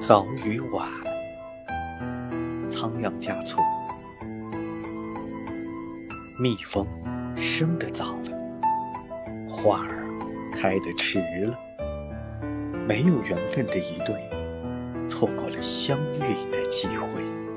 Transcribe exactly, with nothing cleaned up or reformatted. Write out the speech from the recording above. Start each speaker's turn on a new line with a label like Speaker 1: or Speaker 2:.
Speaker 1: 早与晚，仓央嘉措。蜜蜂生得早了，花儿开得迟了，没有缘分的一对，错过了相遇的机会。